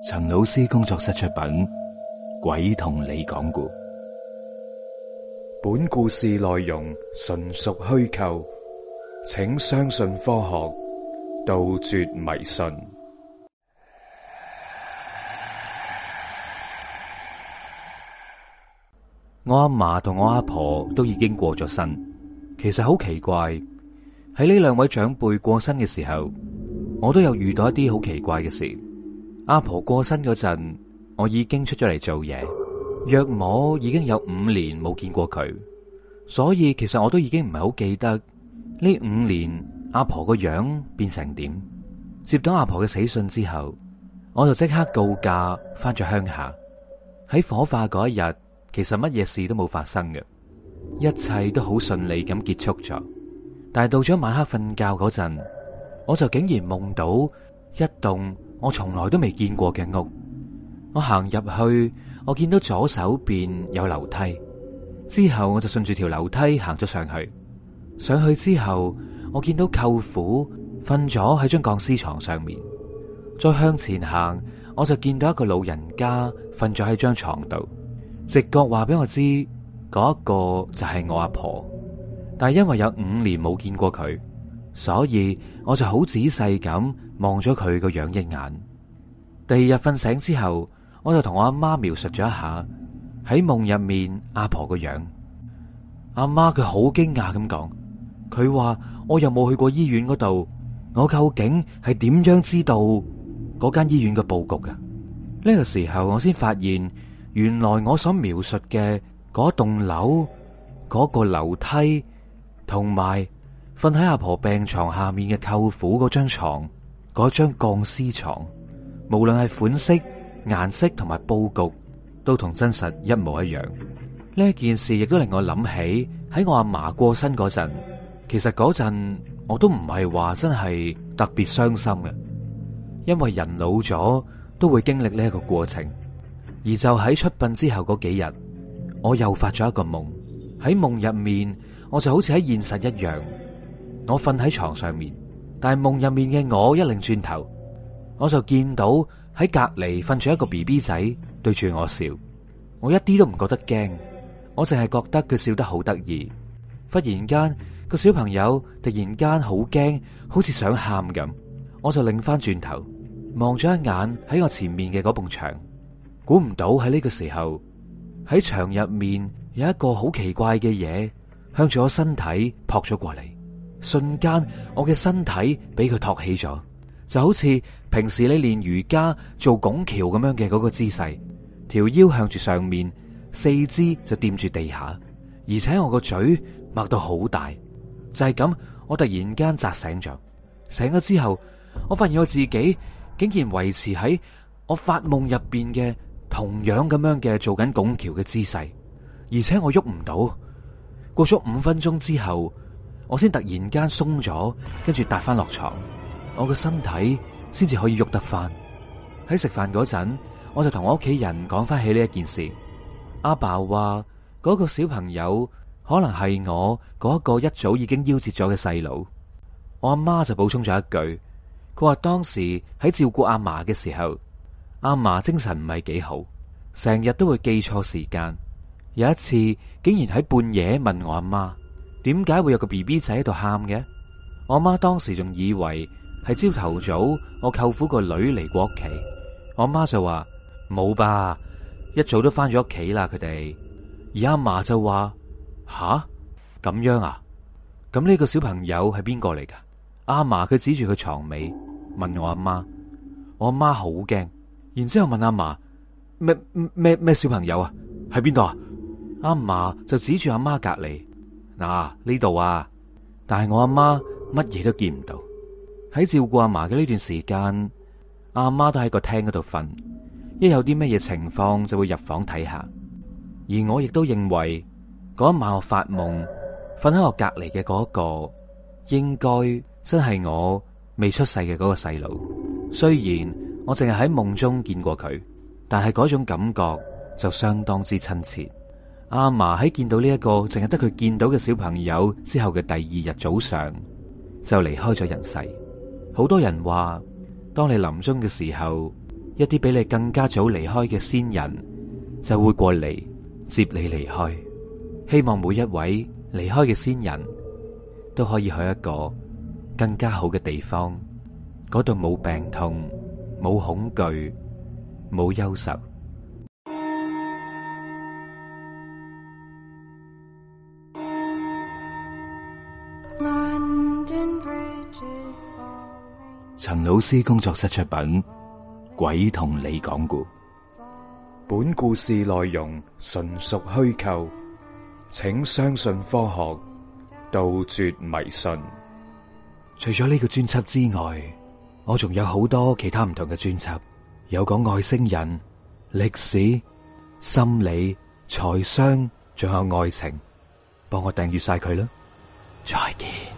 陳老師工作室出品，鬼同你講故。本故事內容純屬虛構，請相信科學，杜絕迷信。我阿嫲同我阿婆都已經過咗身，其實好奇怪，喺呢兩位長輩過身嘅時候，我都有遇到一啲好奇怪嘅事。阿婆過身嗰陣，我已經出咗嚟做嘢，約莫已經有5年冇見過佢，所以其實我都已經唔係好記得呢5年阿婆個樣變成點。接到阿婆嘅死訊之後，我就即刻告假翻咗鄉下。喺火化嗰一日，其實乜嘢事都冇發生嘅，一切都好順利咁結束咗。但係到咗晚黑瞓覺嗰陣，我就竟然夢到一棟我從來都未見過嘅屋。我行入去，我見到左手邊有樓梯，之後我就順住條樓梯行咗上去。上去之後，我見到舅父瞓咗喺張鋼絲床上面。再向前行，我就見到一個老人家瞓咗喺張床度。直覺話俾我知，嗰一個就係我阿婆。但係因為有5年冇見過佢，所以我就好仔細咁望咗佢個樣一眼。第二日瞓醒之後，我就同我阿媽描述咗一下喺夢入面阿婆個樣。阿媽佢好驚訝咁講，佢話我又冇去過醫院嗰度，我究竟係點樣知道嗰間醫院嘅佈局㗎？呢個時候我先發現，原來我所描述嘅嗰棟樓、嗰個樓梯，同埋瞓喺阿婆病床下面嘅舅父嗰張床，嗰張鋼絲床，無論係款式、顏色同埋佈局，都同真實一模一樣。呢件事亦都令我諗起喺我阿嫲過身嗰陣，其實嗰陣我都唔係話真係特別傷心嘅，因為人老咗都會經歷呢一個過程。而就喺出殯之後嗰幾日，我又發咗一個夢。喺夢入面，我就好似喺現實一樣，我瞓喺床上面，但係夢入面嘅我一擰轉頭，我就見到喺隔籬瞓住一個 BB 仔對住我笑。我一啲都唔覺得驚，我淨係覺得佢笑得好得意。忽然間，個小朋友突然間好驚，好似想喊咁。我就擰翻轉頭望咗一眼喺我前面嘅嗰埲牆，估唔到喺呢個時候喺牆入面有一個好奇怪嘅嘢向住我身體撲咗過嚟。瞬間我嘅身體俾佢托起咗，就好似平時你練瑜伽做拱橋咁樣嘅嗰個姿勢，條腰向住上面，四肢就掂住地下，而且我個嘴擘到好大。就係咁，我突然間扎醒咗。醒咗之後，我發現我自己竟然維持喺我發夢入邊嘅同樣咁樣嘅做緊拱橋嘅姿勢，而且我喐唔到。過咗5分鐘之後，我先突然間鬆咗，跟住踏翻落床，我個身體先至可以喐得翻。喺食飯嗰陣，我就同我屋企人講翻起呢一件事。阿爸話嗰個小朋友可能係我嗰個一早已經夭折咗嘅細佬。我阿媽就補充咗一句，佢話當時喺照顧阿嫲嘅時候，阿嫲精神唔係幾好，成日都會記錯時間。有一次竟然喺半夜問我阿媽，點解會有個 BB 仔喺度喊嘅？我阿媽當時仲以為係朝頭早我舅父個女嚟過屋企。我阿媽就話冇吧，一早都翻咗屋企啦佢哋。而阿嫲就話吓，咁樣啊？咁呢個小朋友係邊個嚟噶？阿嫲佢指住佢床尾問我阿媽，我阿媽好驚，然之後問阿嫲咩小朋友啊？喺邊度啊？阿嫲就指住阿媽隔籬，嗱呢度啊，但係我阿媽乜嘢都見唔到。喺照顧阿嫲嘅呢段時間，阿媽都喺個廳嗰度瞓，一有啲乜嘢情況就會入房睇下。而我亦都認為嗰一晚我發夢瞓喺我隔籬嘅嗰個，應該真係我未出世嘅嗰個細佬。雖然我淨係喺夢中見過佢，但係嗰種感覺就相當之親切。阿嫲喺見到呢一個淨係得佢見到嘅小朋友之後嘅第2日早上就離開咗人世。好多人話，當你臨終嘅時候， 一啲比你更加早離開嘅先人就會過嚟接你離開。希望每一位離開嘅先人都可以去一個更加好嘅地方，嗰度冇病痛、冇恐懼、冇憂愁。陳老師工作室出品《鬼同你講故》，本故事內容純屬虛構，請相信科學，杜絕迷信。除咗呢個專輯之外，我仲有好多其他唔同嘅專輯，有講外星人、歷史、心理、財商，仲有愛情，幫我訂閱晒佢啦。再見。